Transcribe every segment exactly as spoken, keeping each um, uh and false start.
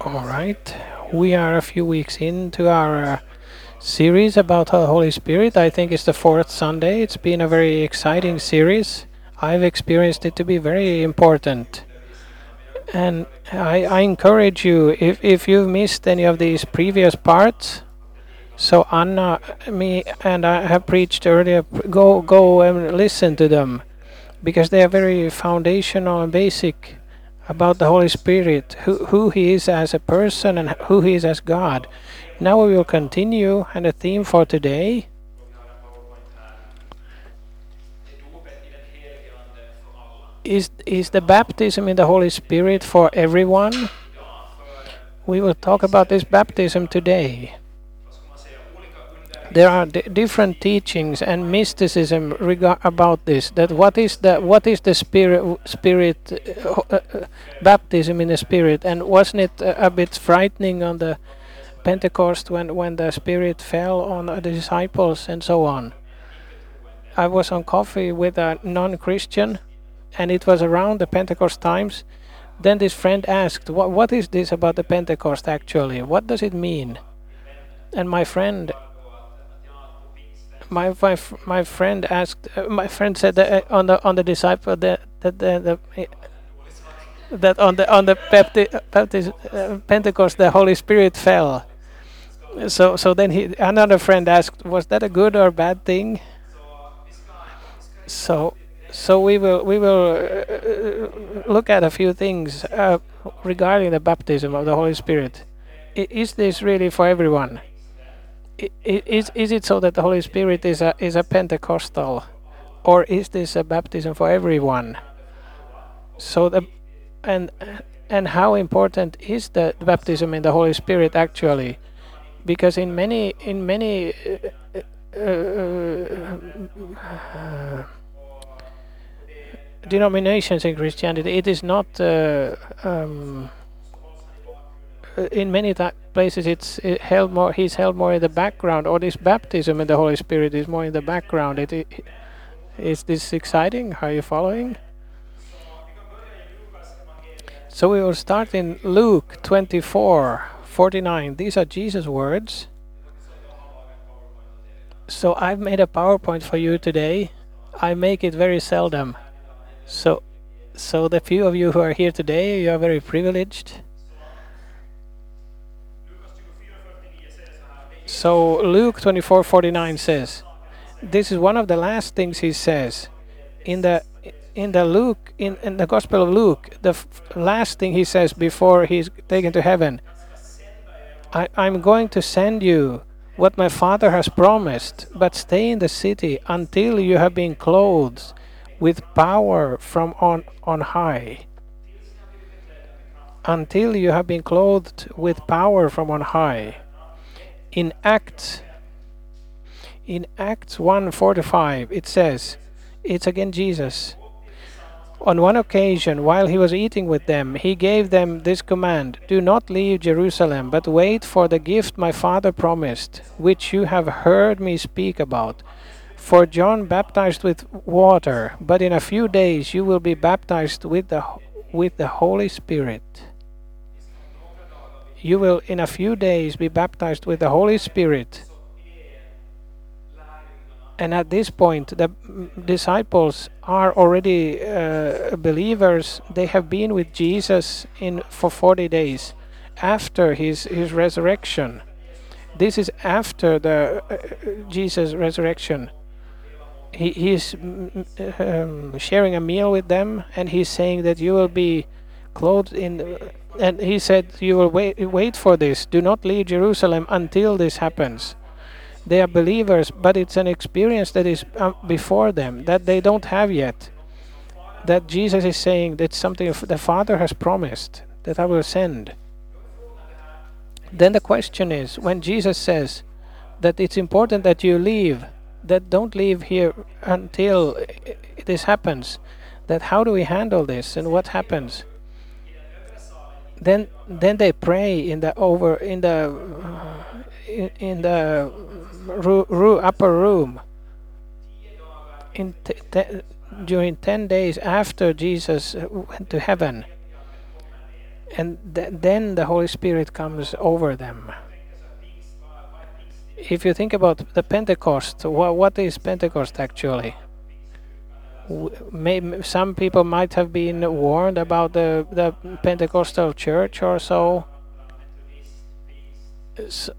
All right. We are a few weeks into our uh, series about the Holy Spirit. I think it's the fourth Sunday. It's been a very exciting series. I've experienced it to be very important. And I, I encourage you, if, if you've missed any of these previous parts, so Anna, me, and I have preached earlier, go, go and listen to them because they are very foundational and basic about the Holy Spirit, who, who He is as a person and who He is as God. Now we will continue, and the theme for today is, is the baptism in the Holy Spirit for everyone. We will talk about this baptism today. There are d- different teachings and mysticism rega- about this. That what is the what is the spirit spirit uh, uh, uh, baptism in the Spirit, and wasn't it uh, a bit frightening on the Pentecost when when the Spirit fell on the disciples and so on? I was on coffee with a non-Christian, and it was around the Pentecost times. Then this friend asked, "What what is this about the Pentecost actually? What does it mean?" And my friend my my, f- my friend asked uh, my friend said that uh, on the on the disciple that that the, the that on the on the Bapti- Baptist, uh, Pentecost the Holy Spirit fell. So so then he another friend asked, was that a good or bad thing? So so we will we will uh, look at a few things uh, regarding the baptism of the Holy Spirit. I, is this really for everyone? I, i- is is it so that the Holy Spirit is a is a Pentecostal, or is this a baptism for everyone? So the and and how important is the baptism in the Holy Spirit actually? Because in many in many uh, uh, denominations in Christianity, it is not. Uh, um, in many th- places, it's it held more. He's held more in the background, or this baptism in the Holy Spirit is more in the background. It, it is this exciting? Are you following? So we will start in Luke twenty-four forty-nine. These are Jesus' words. So I've made a PowerPoint for you today. I make it very seldom. So, so the few of you who are here today, you are very privileged. So Luke twenty-four forty-nine says, this is one of the last things he says in the in the Luke in, in the Gospel of Luke. The f- last thing he says before he's taken to heaven. I, I'm going to send you what my Father has promised, but stay in the city until you have been clothed with power from on, on high. Until you have been clothed with power from on high. In Acts, in Acts one forty-five, it says, it's again Jesus. On one occasion, while he was eating with them, he gave them this command: do not leave Jerusalem, but wait for the gift my Father promised, which you have heard me speak about. For John baptized with water, but in a few days you will be baptized with the with the Holy Spirit. You will in a few days be baptized with the Holy Spirit. And at this point, the disciples are already uh, believers. They have been with Jesus in for forty days after his his resurrection. This is after the uh, Jesus resurrection. He he's um, sharing a meal with them, and he's saying that you will be clothed in. And he said, "You will wait wait for this. Do not leave Jerusalem until this happens." They are believers, but it's an experience that is uh, before them that they don't have yet. That Jesus is saying that's something the Father has promised that I will send. Then the question is, when Jesus says that it's important that you leave, that don't leave here until this happens, that how do we handle this and what happens? Then then they pray in the over in the in, in the ru- ru- upper room in t- t- during ten days after Jesus went to heaven. and th- then the Holy Spirit comes over them. If you think about the Pentecost, wha- what is Pentecost actually? W- Maybe some people might have been warned about the, the Pentecostal church or so. S-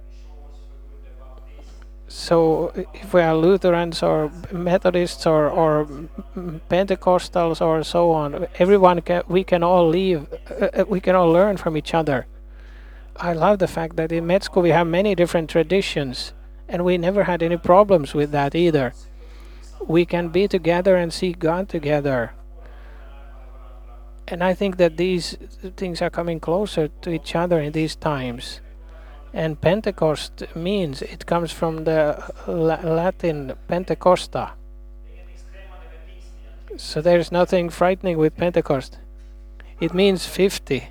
So if we are Lutherans or Methodists or, or mm, Pentecostals or so on, everyone can, we can all leave, uh, uh, we can all learn from each other. I love the fact that in med school we have many different traditions, and we never had any problems with that either. We can be together and see God together. And I think that these things are coming closer to each other in these times. And Pentecost means, it comes from the La- Latin Pentecosta. So there's nothing frightening with Pentecost. It means fifty.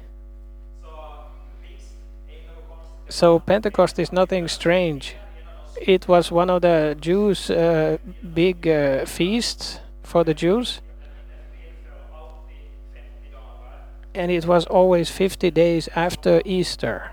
So Pentecost is nothing strange. It was one of the Jews' uh, big uh, feasts for the Jews. And it was always fifty days after Easter.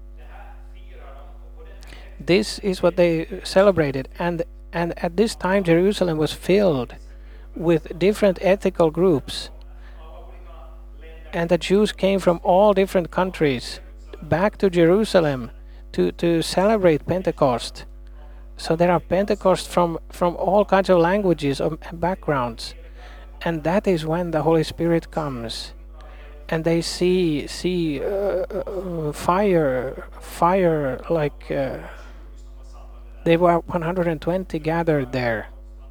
This is what they celebrated. And, and at this time, Jerusalem was filled with different ethical groups. And the Jews came from all different countries back to Jerusalem to, to celebrate Pentecost. So there are Pentecost from, from all kinds of languages and backgrounds. And that is when the Holy Spirit comes. And they see see uh, uh, fire, fire like uh, they were one hundred twenty gathered there.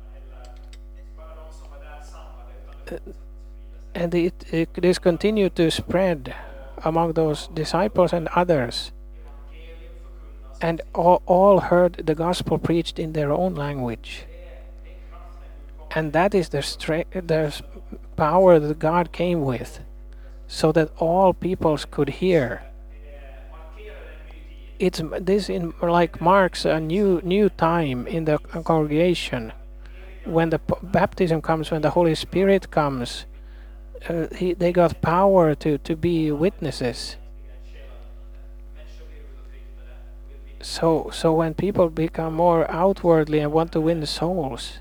Uh, and it, it this continued to spread among those disciples and others. And all, all heard the gospel preached in their own language. And that is the, stra- the power that God came with, so that all peoples could hear. It's this in like marks a new new time in the congregation, when the p- baptism comes, when the Holy Spirit comes. Uh, he, they got power to, to be witnesses. So so when people become more outwardly and want to win souls.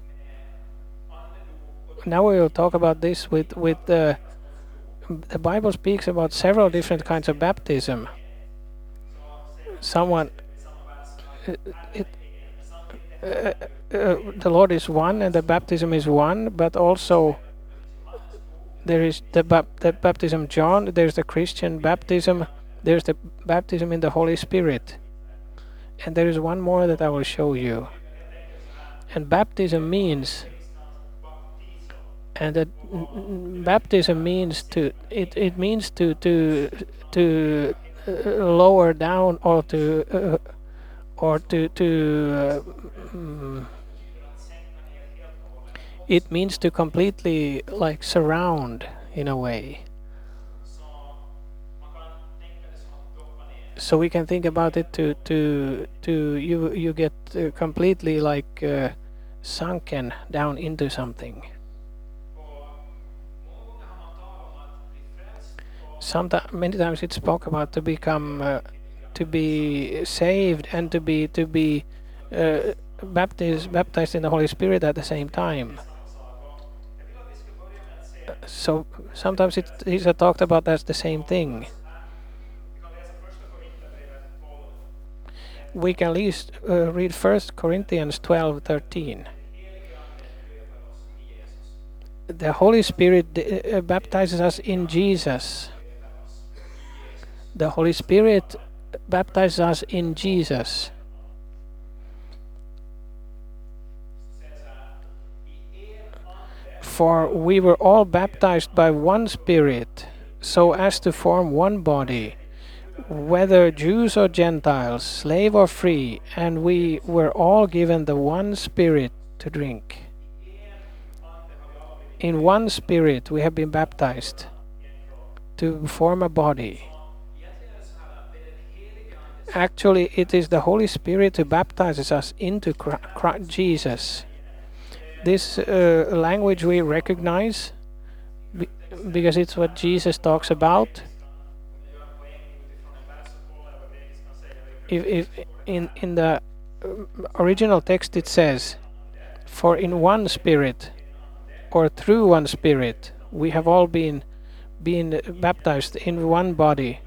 Now we will talk about this with with the the Bible speaks about several different kinds of baptism. Someone it, it uh, uh, the Lord is one and the baptism is one, but also there is the, bap- the baptism John, there's the Christian baptism, there's the baptism in the Holy Spirit. And there is one more that I will show you. And baptism means, and that n- n- baptism means to, it, it means to, to, to uh, lower down or to, uh, or to, to uh, mm, it means to completely like surround in a way. So we can think about it to to to you you get uh, completely like uh, sunken down into something. Sometimes many times it's spoke about to become uh, to be saved and to be to be uh, baptized baptized in the Holy Spirit at the same time. So sometimes it is talked about as the same thing. We can at least uh, read First Corinthians twelve thirteen. The Holy Spirit uh, baptizes us in Jesus. The Holy Spirit baptizes us in Jesus. For we were all baptized by one Spirit, so as to form one body, whether Jews or Gentiles, slave or free, and we were all given the one Spirit to drink. In one Spirit we have been baptized to form a body. Actually, it is the Holy Spirit who baptizes us into Christ Jesus. This uh, language we recognize because it's what Jesus talks about. If, if in in the um, original text it says, "For in one Spirit, or through one Spirit, we have all been been baptized in one body."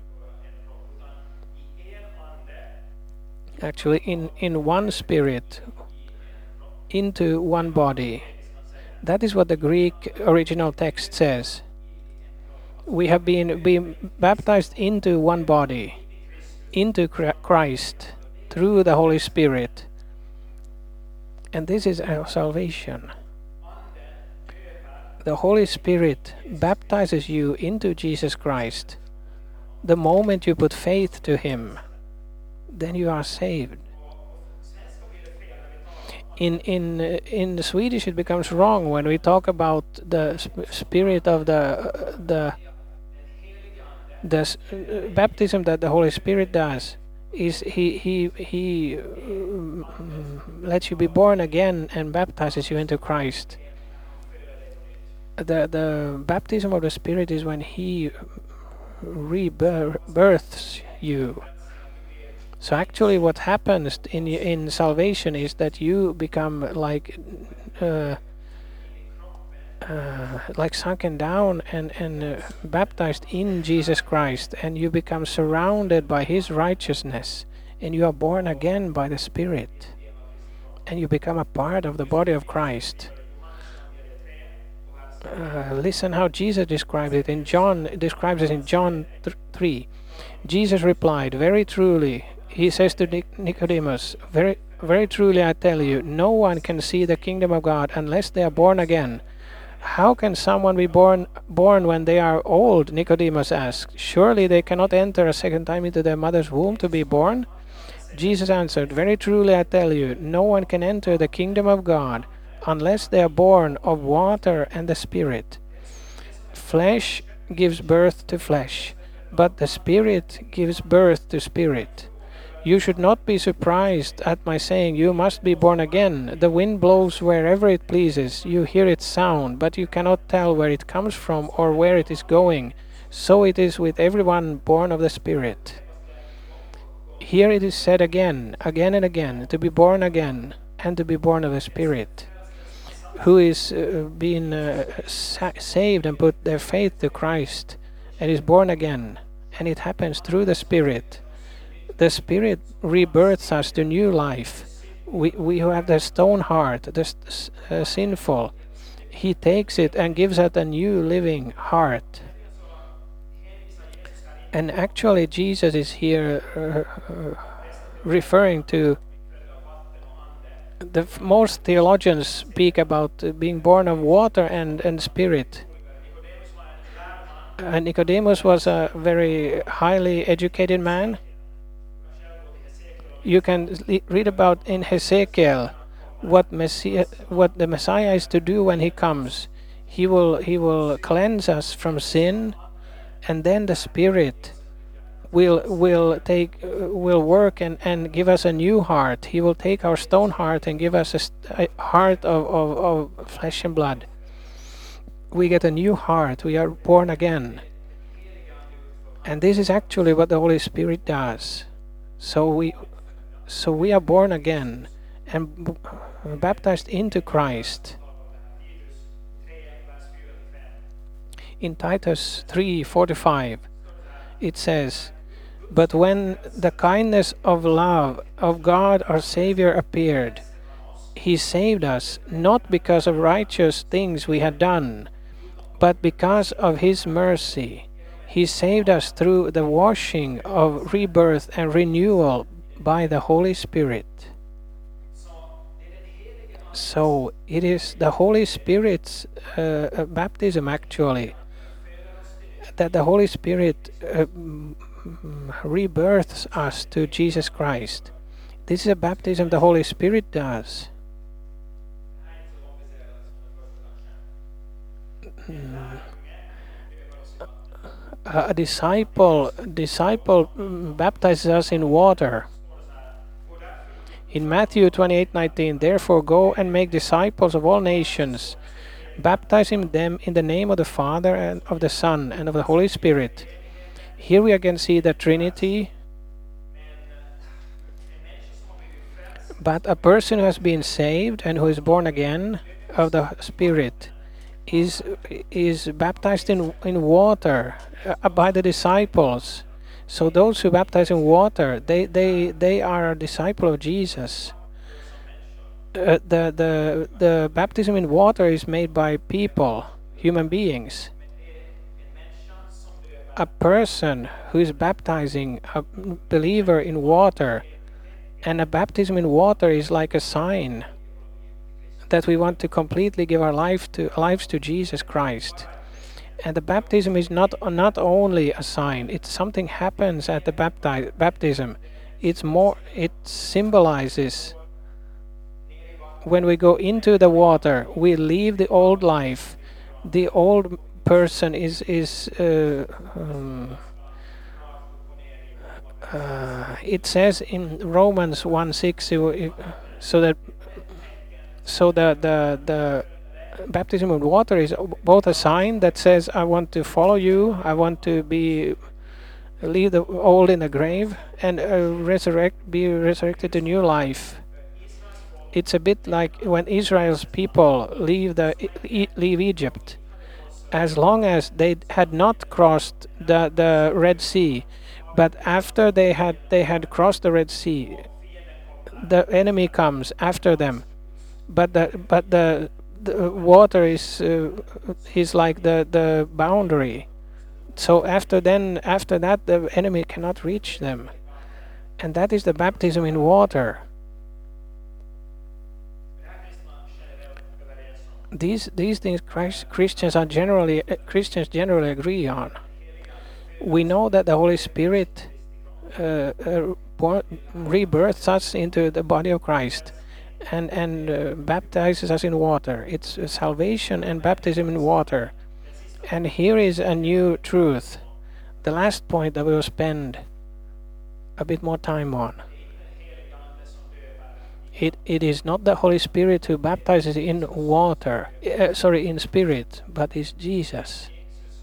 Actually, in in one Spirit, into one body. That is what the Greek original text says. We have been been baptized into one body, into Christ, through the Holy Spirit. And this is our salvation. The Holy Spirit baptizes you into Jesus Christ. The moment you put faith to Him, then you are saved. In in uh, in Swedish, it becomes wrong when we talk about the sp- spirit of the uh, the the s- uh, baptism that the Holy Spirit does. Is he he he um, lets you be born again and baptizes you into Christ. The the baptism of the Spirit is when He rebirths you. So actually, what happens in in salvation is that you become like uh, uh, like sunken down and and uh, baptized in Jesus Christ, and you become surrounded by His righteousness, and you are born again by the Spirit, and you become a part of the body of Christ. Uh, listen how Jesus describes it in John. Describes it in John th- three. Jesus replied, "Very truly," he says to Nic- Nicodemus, "Very, very truly I tell you, no one can see the kingdom of God unless they are born again." "How can someone be born born when they are old?" Nicodemus asked. "Surely they cannot enter a second time into their mother's womb to be born?" Jesus answered, "Very truly I tell you, no one can enter the kingdom of God unless they are born of water and the Spirit. Flesh gives birth to flesh, but the Spirit gives birth to spirit. You should not be surprised at my saying, 'You must be born again.' The wind blows wherever it pleases. You hear its sound, but you cannot tell where it comes from or where it is going. So it is with everyone born of the Spirit." Here it is said again, again and again, to be born again and to be born of the Spirit. Who is uh, being uh, sa- saved and put their faith to Christ and is born again, and it happens through the Spirit. The Spirit rebirths us to new life. We, we who have the stone heart, the s- uh, sinful, He takes it and gives us a new living heart. And actually, Jesus is here uh, uh, referring to the f- most theologians speak about uh, being born of water and, and spirit. Uh, Nicodemus was a very highly educated man. You can le- read about in Hezekiel what Messiah, what the Messiah is to do when He comes. He will He will cleanse us from sin, and then the Spirit will will take uh, will work and, and give us a new heart. He will take our stone heart and give us a, st- a heart of, of, of flesh and blood. We get a new heart. We are born again. And this is actually what the Holy Spirit does. So we so we are born again and b- baptized into Christ. In Titus three forty-five it says, "But when the kindness of love of God our Savior appeared, He saved us not because of righteous things we had done, but because of His mercy. He saved us through the washing of rebirth and renewal by the Holy Spirit." So it is the Holy Spirit's uh, uh, baptism actually, that the Holy Spirit uh, mm, rebirths us to Jesus Christ. This is a baptism the Holy Spirit does. Mm. A a disciple disciple mm, baptizes us in water. In Matthew twenty-eight nineteen, "Therefore go and make disciples of all nations, baptizing them in the name of the Father and of the Son and of the Holy Spirit." Here we again see the Trinity. But a person who has been saved and who is born again of the Spirit is is baptized in in water uh, by the disciples. So those who baptize in water, they they they are a disciple of Jesus. Uh, the the the baptism in water is made by people, human beings. A person who is baptizing a believer in water, and a baptism in water is like a sign that we want to completely give our life to lives to Jesus Christ. And the baptism is not not only a sign; it's something happens at the bapti- baptism. It's more. It symbolizes when we go into the water, we leave the old life. The old person is is. Uh, um, uh, it says in Romans one six, so so that so the the the baptism of water is both a sign that says I want to follow you, I want to be leave the old in the grave and uh, resurrect, be resurrected to new life. It's a bit like when Israel's people leave the e- leave Egypt. As long as they had not crossed the the Red Sea, but after they had they had crossed the Red Sea, the enemy comes after them. But the but the, the water is uh, is like the the boundary. So after then after that the enemy cannot reach them, and that is the baptism in water. These these things Christ, Christians are generally uh, Christians generally agree on. We know that the Holy Spirit uh, uh, born, rebirths us into the body of Christ, and and uh, baptizes us in water. It's uh, salvation and baptism in water. And here is a new truth, the last point that we will spend a bit more time on. It, it is not the Holy Spirit who baptizes in water, uh, sorry, in spirit, but it's Jesus.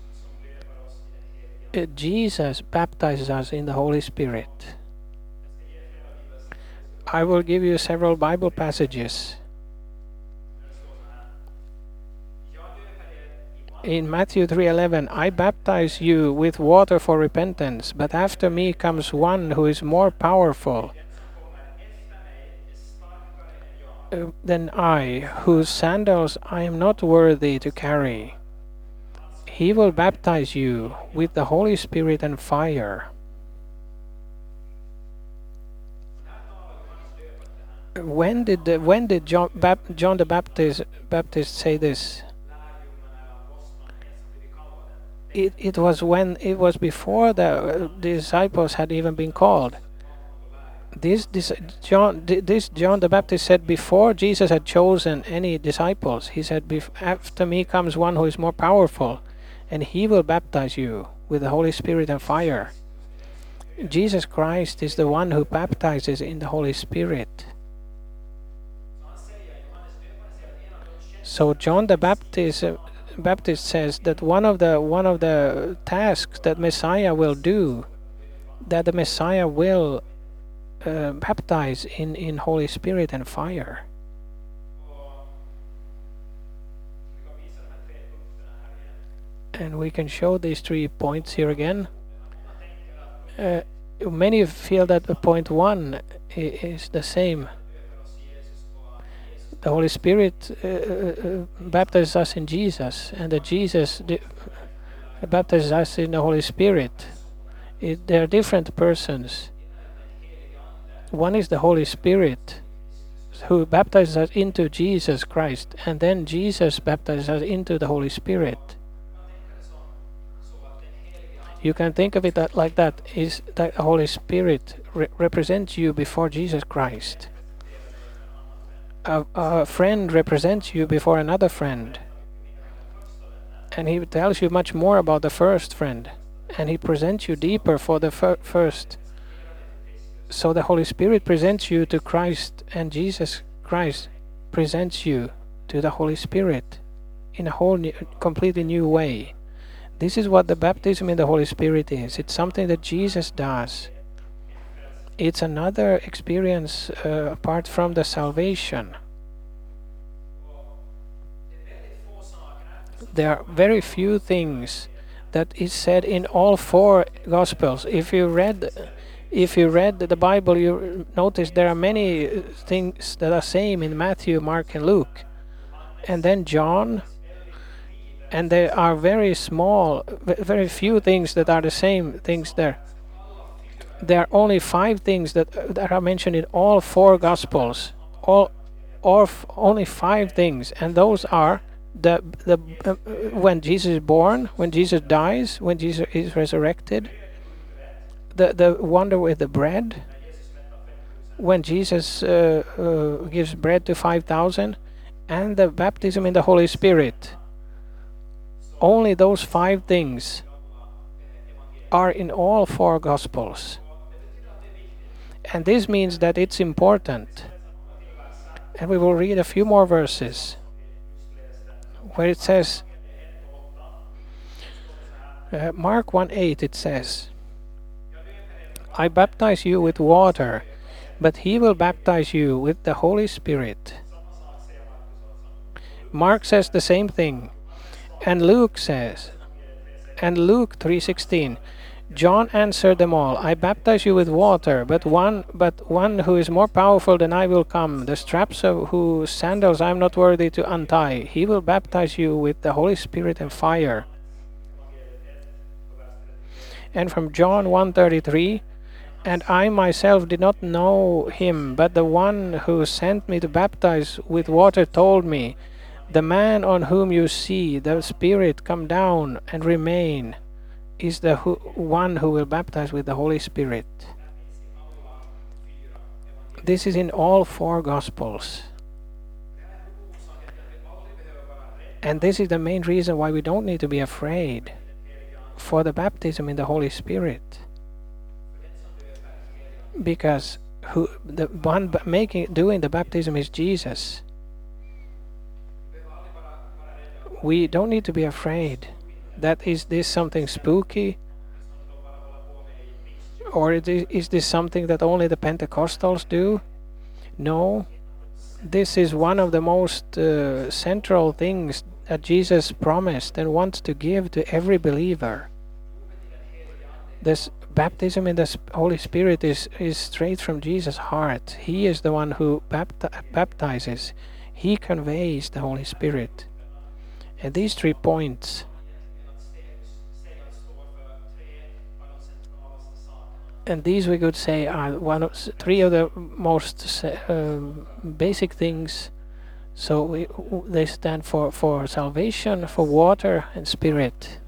Uh, Jesus baptizes us in the Holy Spirit. I will give you several Bible passages. In Matthew three eleven, I baptize you with water for repentance, but after me comes one who is more powerful uh, than I, whose sandals I am not worthy to carry. He will baptize you with the Holy Spirit and fire. When did the, when did John, Bap, John the Baptist Baptist say this? It it was when it was before the disciples had even been called. This this John this John the Baptist said before Jesus had chosen any disciples. He said, "After me comes one who is more powerful, and he will baptize you with the Holy Spirit and fire." Jesus Christ is the one who baptizes in the Holy Spirit. So John the Baptist uh, Baptist says that one of the one of the tasks that Messiah will do, that the Messiah will uh, baptize in in Holy Spirit and fire. And we can show these three points here again. Uh, many feel that the point one is the same. The Holy Spirit uh, uh, baptizes us in Jesus, and the Jesus di- baptizes us in the Holy Spirit. It, they are different persons. One is the Holy Spirit, who baptizes us into Jesus Christ, and then Jesus baptizes us into the Holy Spirit. You can think of it that, like that, is that the Holy Spirit re- represents you before Jesus Christ. A, a friend represents you before another friend, and he tells you much more about the first friend, and he presents you deeper for the fir- first. So the Holy Spirit presents you to Christ, and Jesus Christ presents you to the Holy Spirit in a whole new, completely new way. This is what the baptism in the Holy Spirit is. It's something that Jesus does. It's another experience uh, apart from the salvation. There are very few things that is said in all four Gospels. If you read, if you read the Bible, you notice there are many uh, things that are same in Matthew, Mark, and Luke, and then John. And there are very small, v- very few things that are the same things there. There are only five things that that are mentioned in all four Gospels. All, or f- only five things, and those are the the uh, when Jesus is born, when Jesus dies, when Jesus is resurrected, the the wonder with the bread, when Jesus uh, uh, gives bread to five thousand, and the baptism in the Holy Spirit. Only those five things are in all four Gospels. And this means that it's important. And we will read a few more verses where it says, uh, Mark one eight, it says, I baptize you with water, but he will baptize you with the Holy Spirit. Mark says the same thing. And Luke says, and Luke three sixteen, John answered them all, I baptize you with water, but one but one who is more powerful than I will come, the straps of whose sandals I am not worthy to untie. He will baptize you with the Holy Spirit and fire. And from John one thirty-three, and I myself did not know him, but the one who sent me to baptize with water told me, the man on whom you see the Spirit come down and remain is the who, one who will baptize with the Holy Spirit. This is in all four Gospels. And this is the main reason why we don't need to be afraid for the baptism in the Holy Spirit. Because who the one making doing the baptism is Jesus. We don't need to be afraid. That is this something spooky? Or is is this something that only the Pentecostals do? No. This is one of the most uh, central things that Jesus promised and wants to give to every believer. This baptism in the Holy Spirit is, is straight from Jesus' heart. He is the one who bapti- baptizes. He conveys the Holy Spirit. And these three points and these we could say are one of three of the most uh, basic things. So we, they stand for, for salvation, for water and spirit.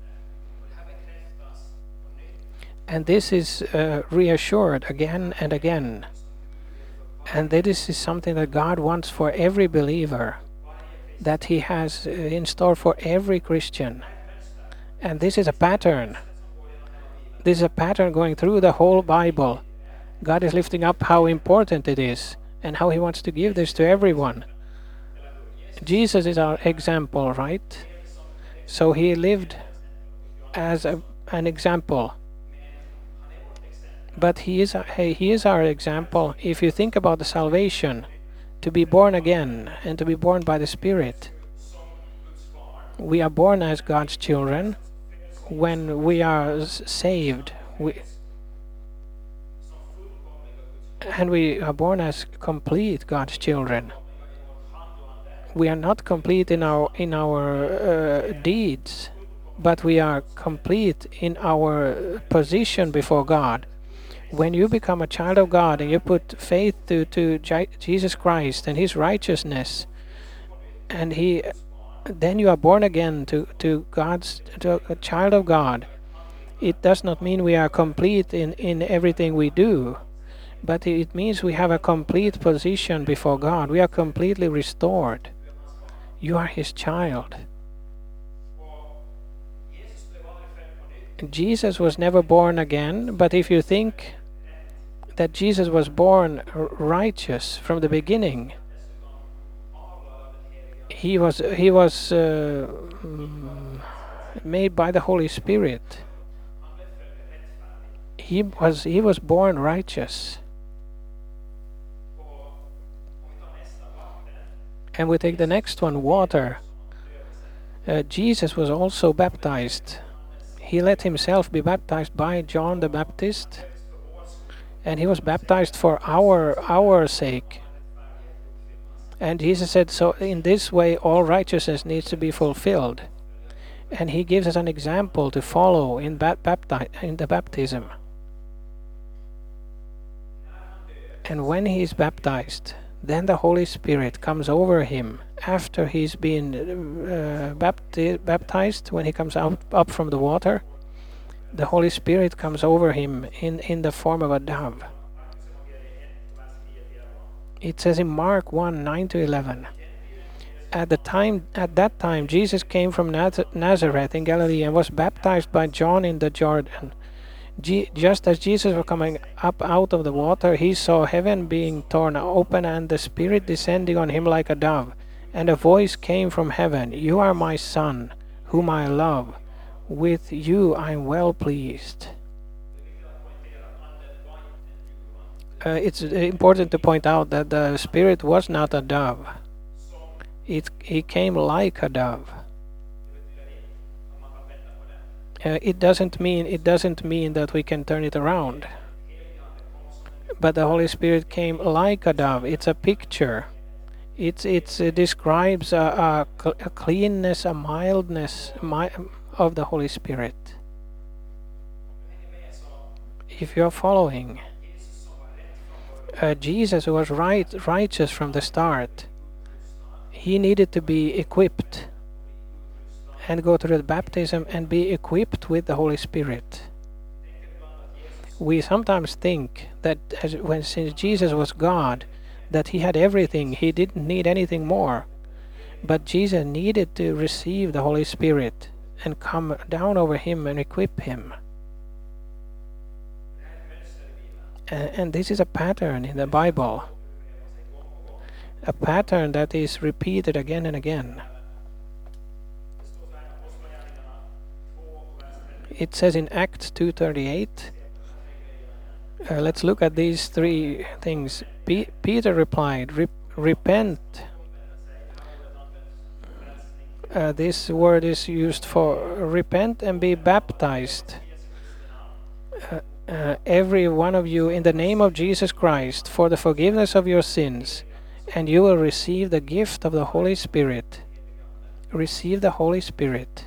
And this is uh, reassured again and again. And this is something that God wants for every believer, that he has in store for every Christian. And this is a pattern. This is a pattern going through the whole Bible. God is lifting up how important it is and how he wants to give this to everyone. Jesus is our example, right? So he lived as a, an example. But he is, hey, he is our example. If you think about the salvation, to be born again and to be born by the Spirit, we are born as God's children. When we are saved, we and we are born as complete God's children. We are not complete in our in our uh, deeds, but we are complete in our position before God. When you become a child of God and you put faith to to Jesus Christ and His righteousness, and He, then you are born again to to God's to a child of God. It does not mean we are complete in in everything we do, but it means we have a complete position before God. We are completely restored. You are His child. Jesus was never born again, but if you think that Jesus was born righteous from the beginning, he was he was uh, made by the Holy Spirit. He was he was born righteous. And we take the next one, water. Uh, Jesus was also baptized. He let himself be baptized by John the Baptist, and he was baptized for our our sake. And Jesus said, so in this way all righteousness needs to be fulfilled. And he gives us an example to follow in, ba- bapti- in the baptism. And when he is baptized, then the Holy Spirit comes over him after he's been uh, bapti- baptized. When he comes out up from the water, the Holy Spirit comes over him in, in the form of a dove. It says in Mark one, nine to eleven. At the time, at that time, Jesus came from Naz- Nazareth in Galilee and was baptized by John in the Jordan. G- just as Jesus was coming up out of the water, he saw heaven being torn open and the Spirit descending on him like a dove. And a voice came from heaven, "You are my Son, whom I love. With you I am well pleased." Uh, it's important to point out that the Spirit was not a dove. It, he came like a dove. Uh, it doesn't mean it doesn't mean that we can turn it around. But the Holy Spirit came like a dove. It's a picture. It's it's it describes a, a, a cleanness, a mildness mi- of the Holy Spirit. If you're following, uh, Jesus was right righteous from the start. He needed to be equipped and go through the baptism and be equipped with the Holy Spirit. We sometimes think that as when since Jesus was God, that he had everything, he didn't need anything more. But Jesus needed to receive the Holy Spirit and come down over him and equip him. And, and this is a pattern in the Bible, a pattern that is repeated again and again. It says in Acts two thirty-eight, uh, let's look at these three things. P- Peter replied, Re- repent. Uh, this word is used for repent and be baptized. Uh, uh, every one of you in the name of Jesus Christ for the forgiveness of your sins, and you will receive the gift of the Holy Spirit. Receive the Holy Spirit.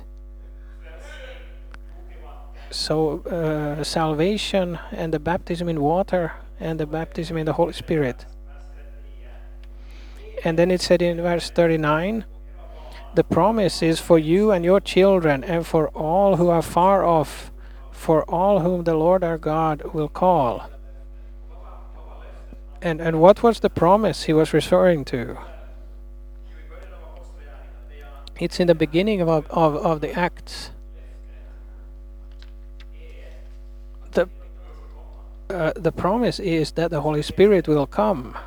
So uh, salvation and the baptism in water and the baptism in the Holy Spirit. And then it said in verse thirty-nine, the promise is for you and your children and for all who are far off, for all whom the Lord our God will call. And and what was the promise he was referring to? It's in the beginning of of, of the Acts. The uh, the promise is that the Holy Spirit will come.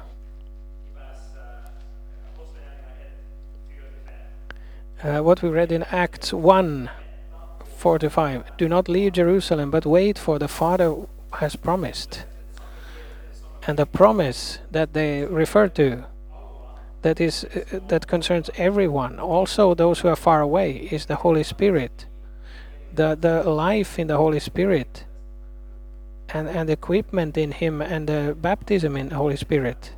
Uh, what we read in Acts one, four to five. Do not leave Jerusalem, but wait for the Father has promised. And the promise that they refer to, that is uh, that concerns everyone, also those who are far away, is the Holy Spirit. The the life in the Holy Spirit, and and equipment in Him, and the baptism in the Holy Spirit.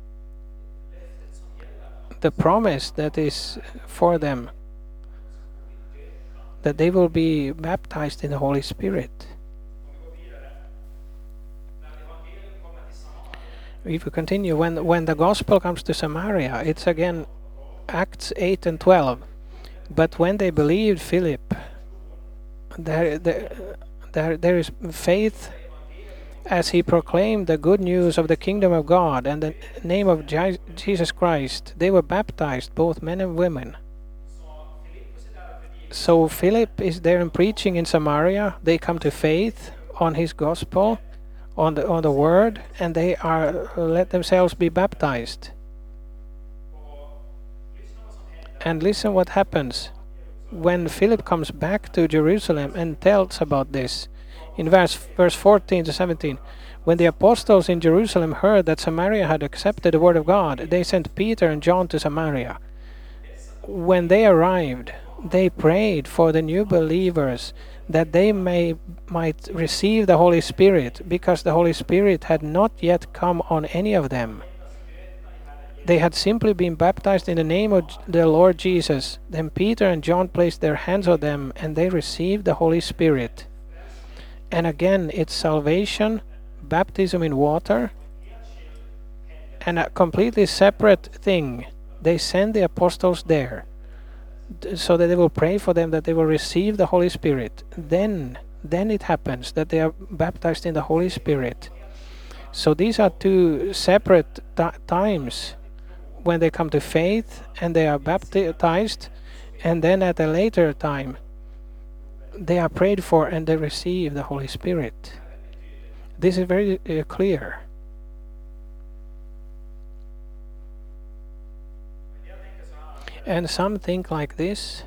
The promise that is for them, that they will be baptized in the Holy Spirit. If we continue, when when the gospel comes to Samaria, it's again Acts eight and twelve. But when they believed Philip, there there there, there is faith as he proclaimed the good news of the kingdom of God and the name of Jesus Christ. They were baptized, both men and women. So Philip is there and preaching in Samaria. They come to faith on his gospel, on the on the word, and they are let themselves be baptized. And listen what happens when Philip comes back to Jerusalem and tells about this. In verse, verse fourteen to seventeen, when the apostles in Jerusalem heard that Samaria had accepted the word of God, they sent Peter and John to Samaria. When they arrived, they prayed for the new believers that they may might receive the Holy Spirit, because the Holy Spirit had not yet come on any of them. They had simply been baptized in the name of the Lord Jesus. Then Peter and John placed their hands on them, and they received the Holy Spirit. And again, it's salvation, baptism in water, and a completely separate thing. They send the apostles there so that they will pray for them that they will receive the Holy Spirit. Then, then it happens that they are baptized in the Holy Spirit. So these are two separate t- times when they come to faith and they are baptized, and then at a later time they are prayed for and they receive the Holy Spirit. This is very uh, clear. And some think like this,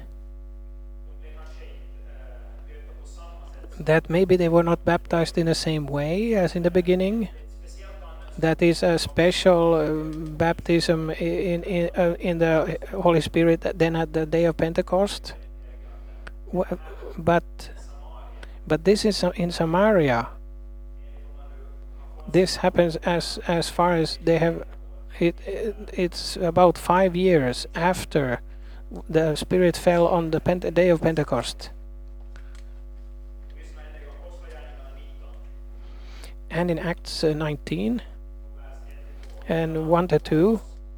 that maybe they were not baptized in the same way as in the beginning. That is a special uh, baptism in in, uh, in the Holy Spirit than at the day of Pentecost. But but this is in Samaria. This happens as as far as they have. It, it it's about five years after the Spirit fell on the Pente- day of Pentecost. And in Acts uh, nineteen and one to two,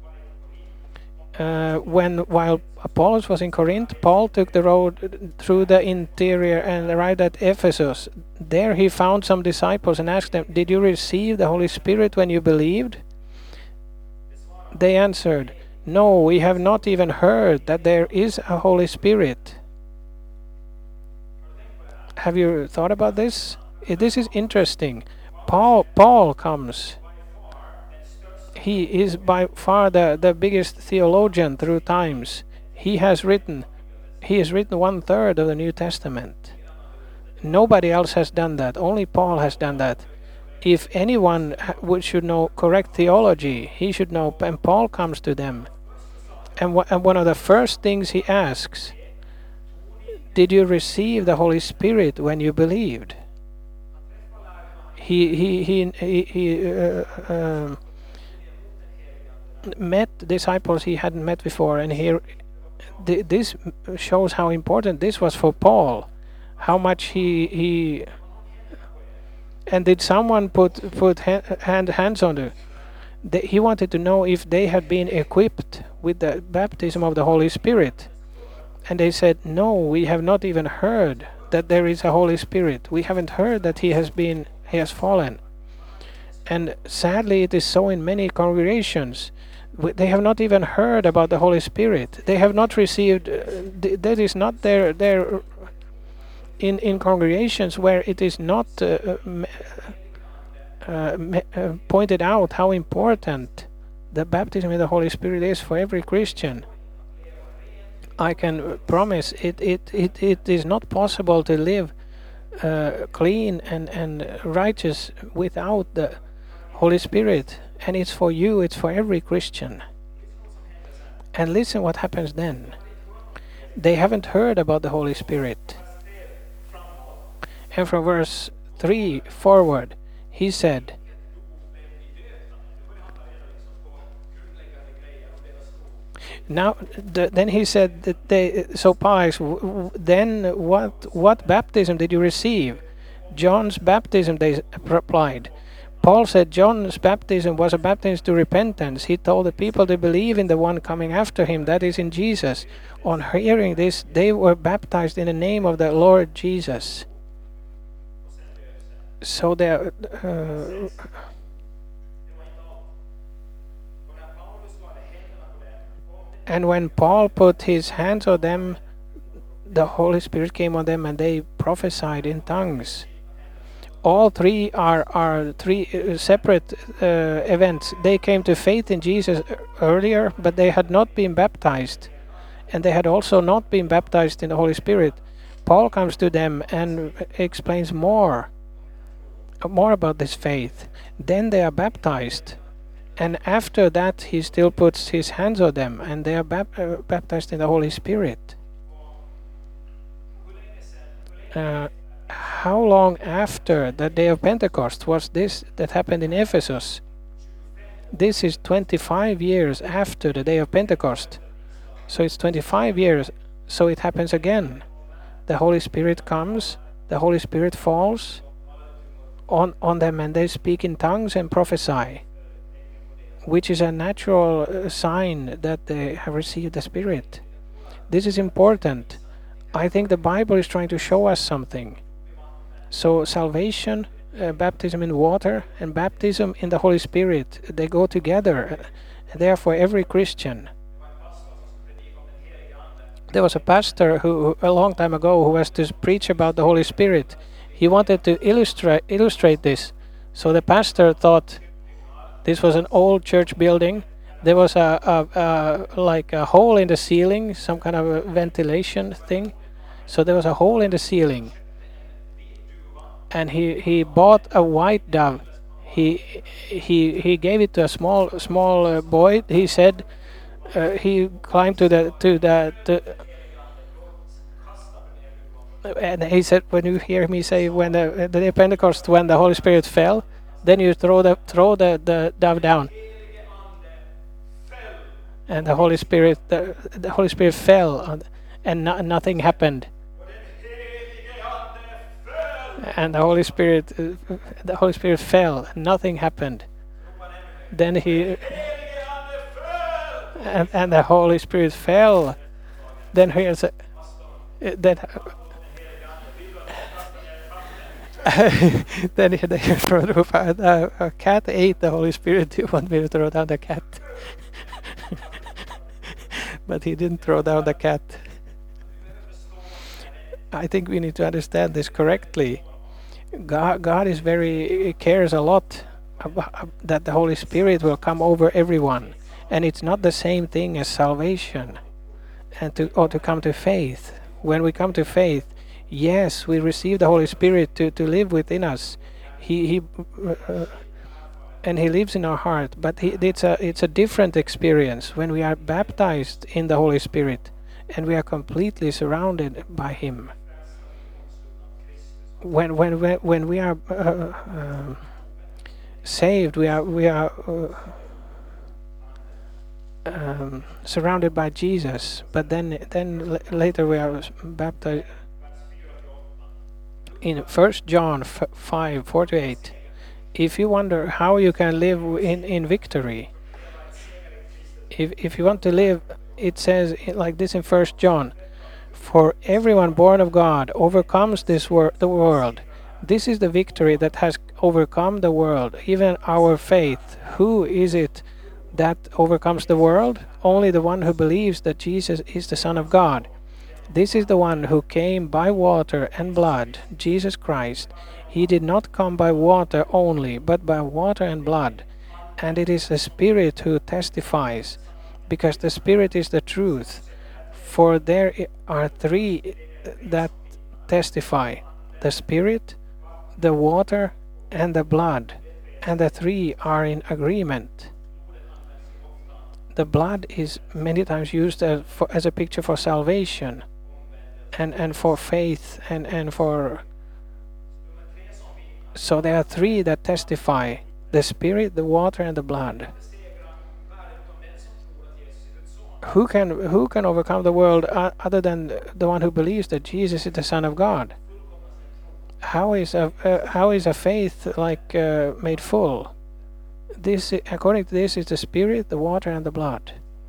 uh, when while Apollos was in Corinth, Paul took the road through the interior and arrived at Ephesus. There he found some disciples and asked them, "Did you receive the Holy Spirit when you believed?" They answered, "No, we have not even heard that there is a Holy Spirit." Have you thought about this? This is interesting. Paul Paul comes. He is by far the, the biggest theologian through times. He has written he has written one third of the New Testament. Nobody else has done that. Only Paul has done that. If anyone would should know correct theology, he should know. And Paul comes to them, and, w- and one of the first things he asks, "Did you receive the Holy Spirit when you believed?" He he he he, he uh, um, met disciples he hadn't met before, and he th- this shows how important this was for Paul, how much he he. And did someone put put hand hands on them? The, he wanted to know if they had been equipped with the baptism of the Holy Spirit, and they said, "No, we have not even heard that there is a Holy Spirit. We haven't heard that he has been he has fallen." And sadly, it is so in many congregations. They have not even heard about the Holy Spirit. They have not received. Uh, th- that is not their their. In, in congregations where it is not uh, uh, uh, pointed out how important the baptism in the Holy Spirit is for every Christian, I can promise it, it, it, it is not possible to live uh, clean and, and righteous without the Holy Spirit. And it's for you, it's for every Christian. And listen what happens then. They haven't heard about the Holy Spirit. And from verse three forward, he said, now, the, then he said that they, so Paul asked, then what, what baptism did you receive? John's baptism, they replied. Paul said John's baptism was a baptism to repentance. He told the people to believe in the one coming after him, that is in Jesus. On hearing this, they were baptized in the name of the Lord Jesus. So there, uh, and when Paul put his hands on them, the Holy Spirit came on them and they prophesied in tongues. All three are, are three uh, separate uh, events. They came to faith in Jesus earlier, but they had not been baptized. And they had also not been baptized in the Holy Spirit. Paul comes to them and explains more more about this faith. Then they are baptized, and after that he still puts his hands on them, and they are bap- uh, baptized in the Holy Spirit. Uh, how long after the day of Pentecost was this that happened in Ephesus? This is twenty-five years after the day of Pentecost. So it's twenty-five years. So it happens again. The Holy Spirit comes, the Holy Spirit falls on, on them, and they speak in tongues and prophesy, which is a natural uh, sign that they have received the Spirit. This is important. I think the Bible is trying to show us something. So salvation, uh, baptism in water, and baptism in the Holy Spirit, they go together. Therefore, every Christian. There was a pastor who, a long time ago, who was to preach about the Holy Spirit. He wanted to illustrate illustrate this. So the pastor thought this was an old church building. There was a, a, a like a hole in the ceiling, some kind of a ventilation thing. So there was a hole in the ceiling, and he, he bought a white dove. He he he gave it to a small small uh, boy. He said uh, he climbed to the to the to, and he said, when you hear me say when the, the day of Pentecost, when the Holy Spirit fell, then you throw the throw the, the dove down, and the Holy Spirit the, the Holy Spirit fell, on, and no, nothing happened. And the Holy Spirit, uh, the Holy Spirit fell, and nothing happened. Then he, and, and the Holy Spirit fell. Then here's a, uh, then, then they throw a, a cat ate the Holy Spirit. Do you want me to throw down the cat? But he didn't throw down the cat. I think we need to understand this correctly. God, God is very cares a lot about, that the Holy Spirit will come over everyone, and it's not the same thing as salvation, and to or to come to faith. When we come to faith, yes, we receive the Holy Spirit to, to live within us. He he, uh, and He lives in our heart. But he, it's a it's a different experience when we are baptized in the Holy Spirit, and we are completely surrounded by Him. When when when, when we are uh, uh, saved, we are we are uh, um, surrounded by Jesus. But then then l- later we are baptized in First John f- five four to eight. If you wonder how you can live in in victory, if if you want to live, it says like this in First John. For everyone born of God overcomes this wor- the world. This is the victory that has overcome the world, even our faith. Who is it that overcomes the world? Only the one who believes that Jesus is the Son of God. This is the one who came by water and blood, Jesus Christ. He did not come by water only, but by water and blood. And it is the Spirit who testifies, because the Spirit is the truth. For there are three that testify: the Spirit, the water, and the blood. And the three are in agreement. The blood is many times used as, for, as a picture for salvation, and, and for faith, and, and for... So there are three that testify: the Spirit, the water, and the blood. Who can who can overcome the world uh, other than the one who believes that Jesus is the Son of God? How is a uh, how is a faith like uh, made full? This, according to this, is the Spirit, the water, and the blood.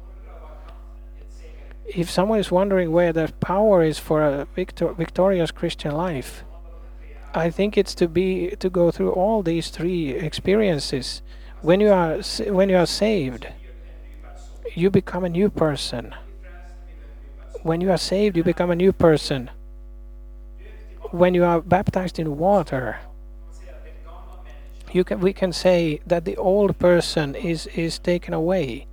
If someone is wondering where the power is for a victor, victorious Christian life, I think it's to be to go through all these three experiences. When you are when you are saved, you become a new person. When you are saved, you become a new person. When you are baptized in water, you can we can say that the old person is is taken away.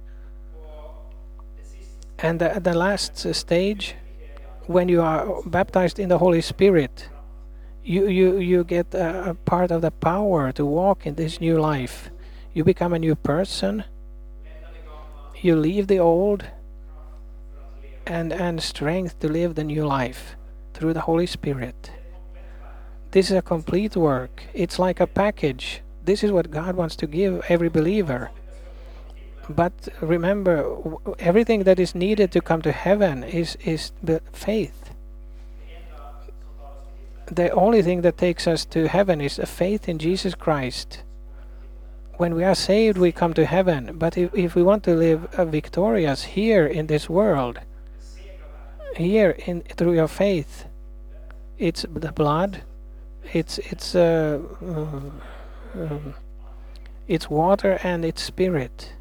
And the, the last stage, when you are baptized in the Holy Spirit, You, you, you get a, a part of the power to walk in this new life. You become a new person. You leave the old and, and strength to live the new life through the Holy Spirit. This is a complete work. It's like a package. This is what God wants to give every believer. But remember, w- everything that is needed to come to heaven is, is the faith. The only thing that takes us to heaven is a faith in Jesus Christ. When we are saved, we come to heaven. But if, if we want to live uh, victorious here in this world, here in through your faith, it's the blood, it's it's uh, uh, um, it's water and it's spirit.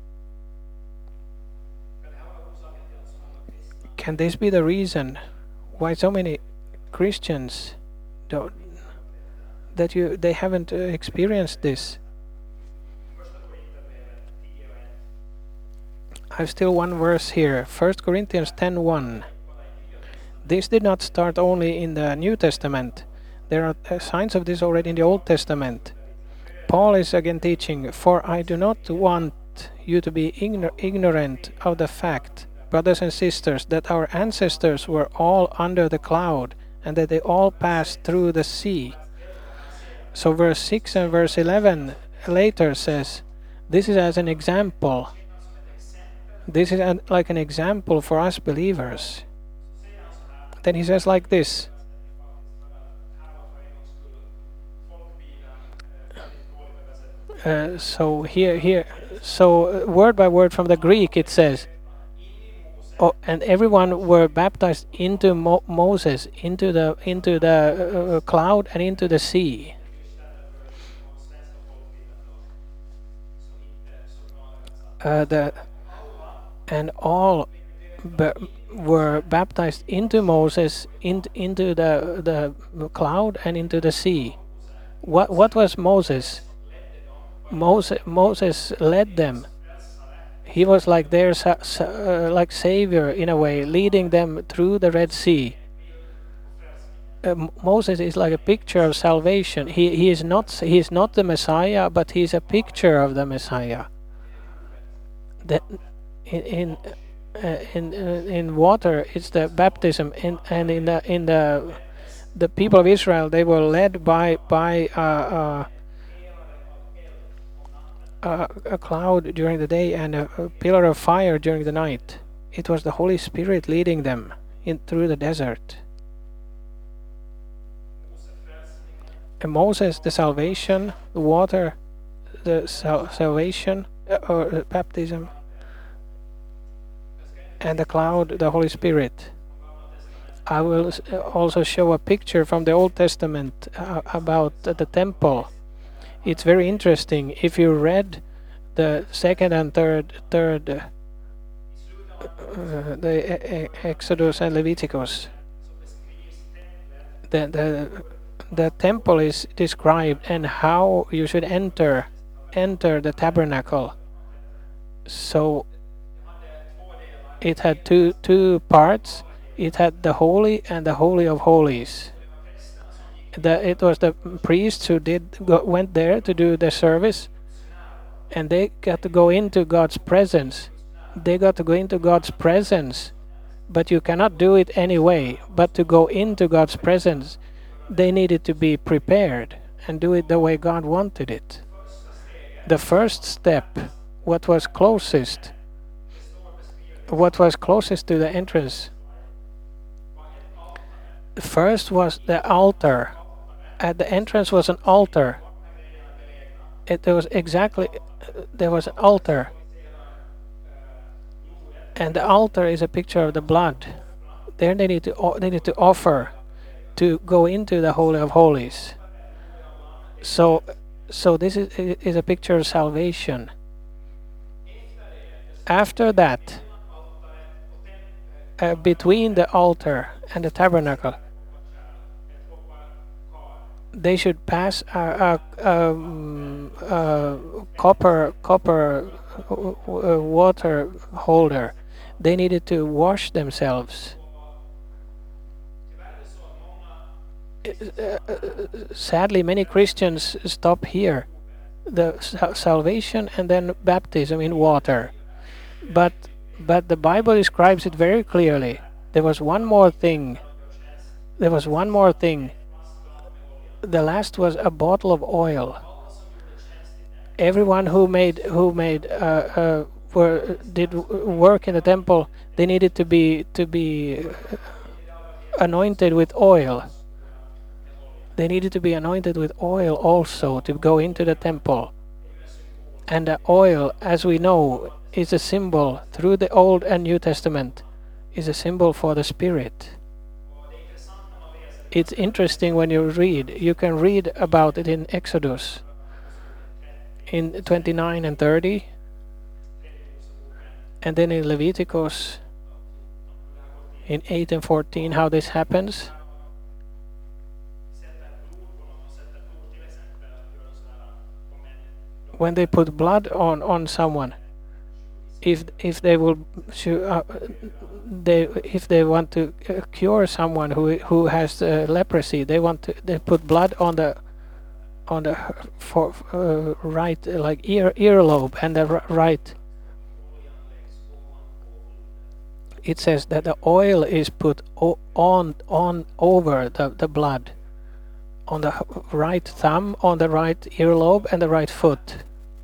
Can this be the reason why so many Christians don't that you they haven't uh, experienced this? I've still one verse here, First Corinthians ten one. This did not start only in the New Testament. There are uh, signs of this already in the Old Testament. Paul is again teaching, for I do not want you to be ignor- ignorant of the fact, brothers and sisters, that our ancestors were all under the cloud and that they all passed through the sea. So verse six and verse eleven later says, this is as an example. This is an, like an example for us believers. Then he says like this. Uh, so here, here, so uh, word by word from the Greek it says, oh, and everyone were baptized into Mo- Moses, into the into the uh, cloud and into the sea. Uh, the and all b- were baptized into Moses, in, into the the cloud and into the sea. What what was Moses? Moses Moses led them. He was like their sa- sa- uh, like savior in a way, leading them through the Red Sea. Uh, M- Moses is like a picture of salvation. He he is not he is not the Messiah, but he is a picture of the Messiah. That in in uh, in, uh, in water it's the baptism, in, and in the in the the people of Israel they were led by by uh, uh, uh, a cloud during the day and a, a pillar of fire during the night. It was the Holy Spirit leading them in through the desert. And Moses, the salvation, the water, the sal- salvation uh, or uh, baptism, and the cloud, the Holy Spirit. I will s- uh, also show a picture from the Old Testament uh, about uh, the temple. It's very interesting. If you read the second and third, third, uh, uh, the e- e- Exodus and Leviticus, the the the temple is described and how you should enter enter the tabernacle. So it had two two parts. It had the holy and the holy of holies. The, it was the priests who did go, went there to do the service, and they got to go into God's presence. They got to go into God's presence, but you cannot do it anyway. But to go into God's presence, they needed to be prepared and do it the way God wanted it. The first step, what was closest, what was closest to the entrance, first was the altar. At the entrance was an altar. It there was exactly there was an altar, and the altar is a picture of the blood. There they need to o- they need to offer to go into the holy of holies. So, so this is is a picture of salvation. After that, uh, between the altar and the tabernacle, they should pass a, a, um, a copper copper uh, water holder. They needed to wash themselves. Sadly, many Christians stop here, the sa- salvation and then baptism in water. But but the Bible describes it very clearly. There was one more thing. There was one more thing. The last was a bottle of oil. Everyone who made who made uh, uh, were did work in the temple, they needed to be to be anointed with oil. They needed to be anointed with oil also to go into the temple. And the oil, as we know, is a symbol through the Old and New Testament, is a symbol for the Spirit. It's interesting when you read. You can read about it in Exodus, in twenty-nine and thirty, and then in Leviticus, in eight and fourteen, how this happens. When they put blood on, on someone, if if they will, uh, they if they want to uh, cure someone who who has uh, leprosy, they want to they put blood on the on the for uh, right uh, like ear earlobe and the r- right. It says that the oil is put o- on on over the the blood on the h- right thumb, on the right earlobe, and the right foot.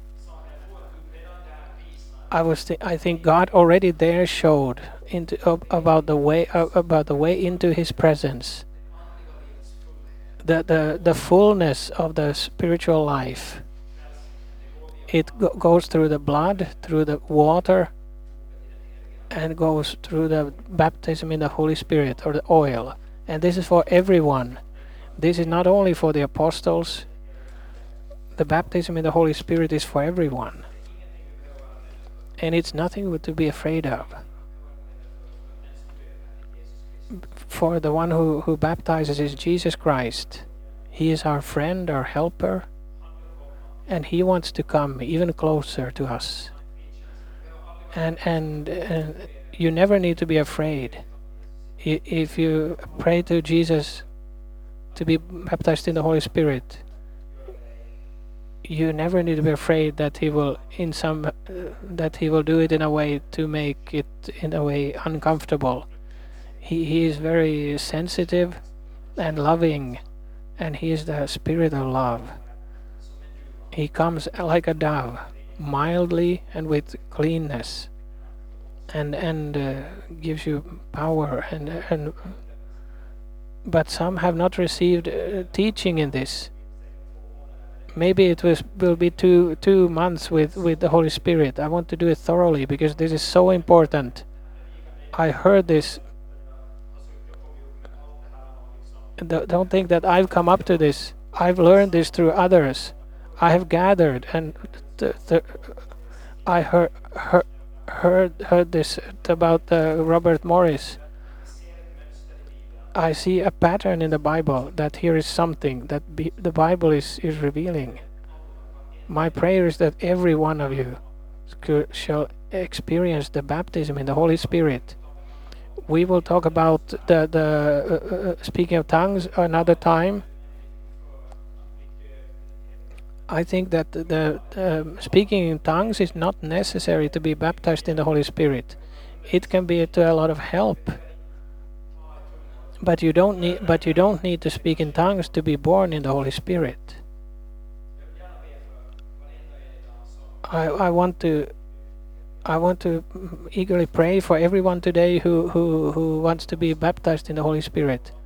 I was th- I think God already there showed into uh, about the way uh, about the way into His presence, the the the fullness of the spiritual life. It go- goes through the blood, through the water, and goes through the baptism in the Holy Spirit or the oil. And this is for everyone. This is not only for the apostles. The baptism in the Holy Spirit is for everyone. And it's nothing to be afraid of. For the one who, who baptizes is Jesus Christ. He is our friend, our helper, and He wants to come even closer to us. And, and, and you never need to be afraid. I- If you pray to Jesus to be baptized in the Holy Spirit, you never need to be afraid that He will in some uh, that He will do it in a way to make it in a way uncomfortable. He He is very sensitive and loving, and He is the Spirit of love. He comes like a dove, mildly and with cleanness, and and uh, gives you power and and. But some have not received uh, teaching in this. Maybe it was will be two two months with with the Holy Spirit. I want to do it thoroughly because this is so important. I heard this. Don't don't think that I've come up to this. I've learned this through others. I have gathered and th- th- I heard heard heard, heard this about uh, Robert Morris. I see a pattern in the Bible that here is something that be, the Bible is, is revealing. My prayer is that every one of you sc- shall experience the baptism in the Holy Spirit. We will talk about the, the uh, uh, speaking of tongues another time. I think that the, the um, speaking in tongues is not necessary to be baptized in the Holy Spirit. It can be to a lot of help. But you don't need but you don't need to speak in tongues to be born in the Holy Spirit. I, I want to I want to eagerly pray for everyone today who, who, who wants to be baptized in the Holy Spirit.